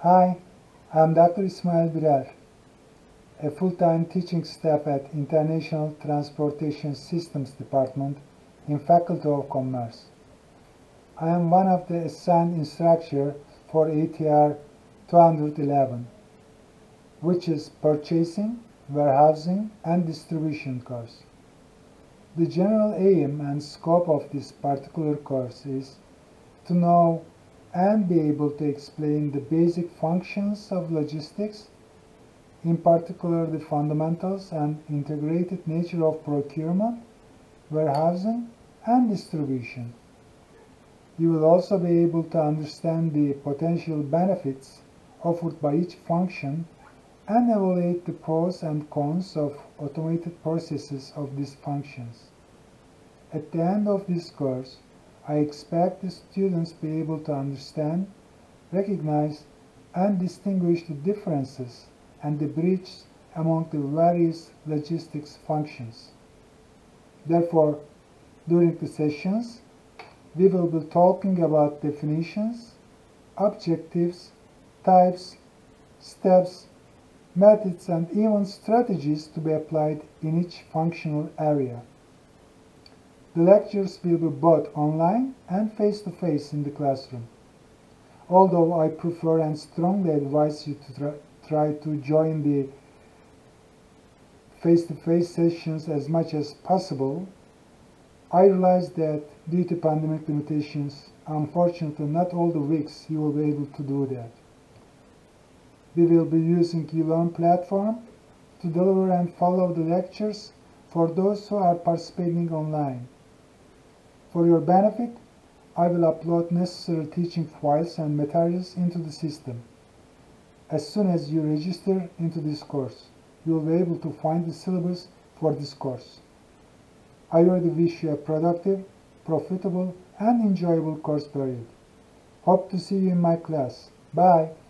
Hi, I'm Dr. Ismail Birer, a full-time teaching staff at International Transportation Systems Department in Faculty of Commerce. I am one of the assigned instructors for ATR 211, which is Purchasing, Warehousing, and Distribution course. The general aim and scope of this particular course is to know and be able to explain the basic functions of logistics, in particular the fundamentals and integrated nature of procurement, warehousing, and distribution. You will also be able to understand the potential benefits offered by each function and evaluate the pros and cons of automated processes of these functions. At the end of this course, I expect the students to be able to understand, recognize, and distinguish the differences and the bridges among the various logistics functions. Therefore, during the sessions, we will be talking about definitions, objectives, types, steps, methods, and even strategies to be applied in each functional area. The lectures will be both online and face-to-face in the classroom. Although I prefer and strongly advise you to try to join the face-to-face sessions as much as possible, I realize that due to pandemic limitations, unfortunately not all the weeks you will be able to do that. We will be using eLearn platform to deliver and follow the lectures for those who are participating online. For your benefit, I will upload necessary teaching files and materials into the system. As soon as you register into this course, you will be able to find the syllabus for this course. I already wish you a productive, profitable, and enjoyable course period. Hope to see you in my class. Bye!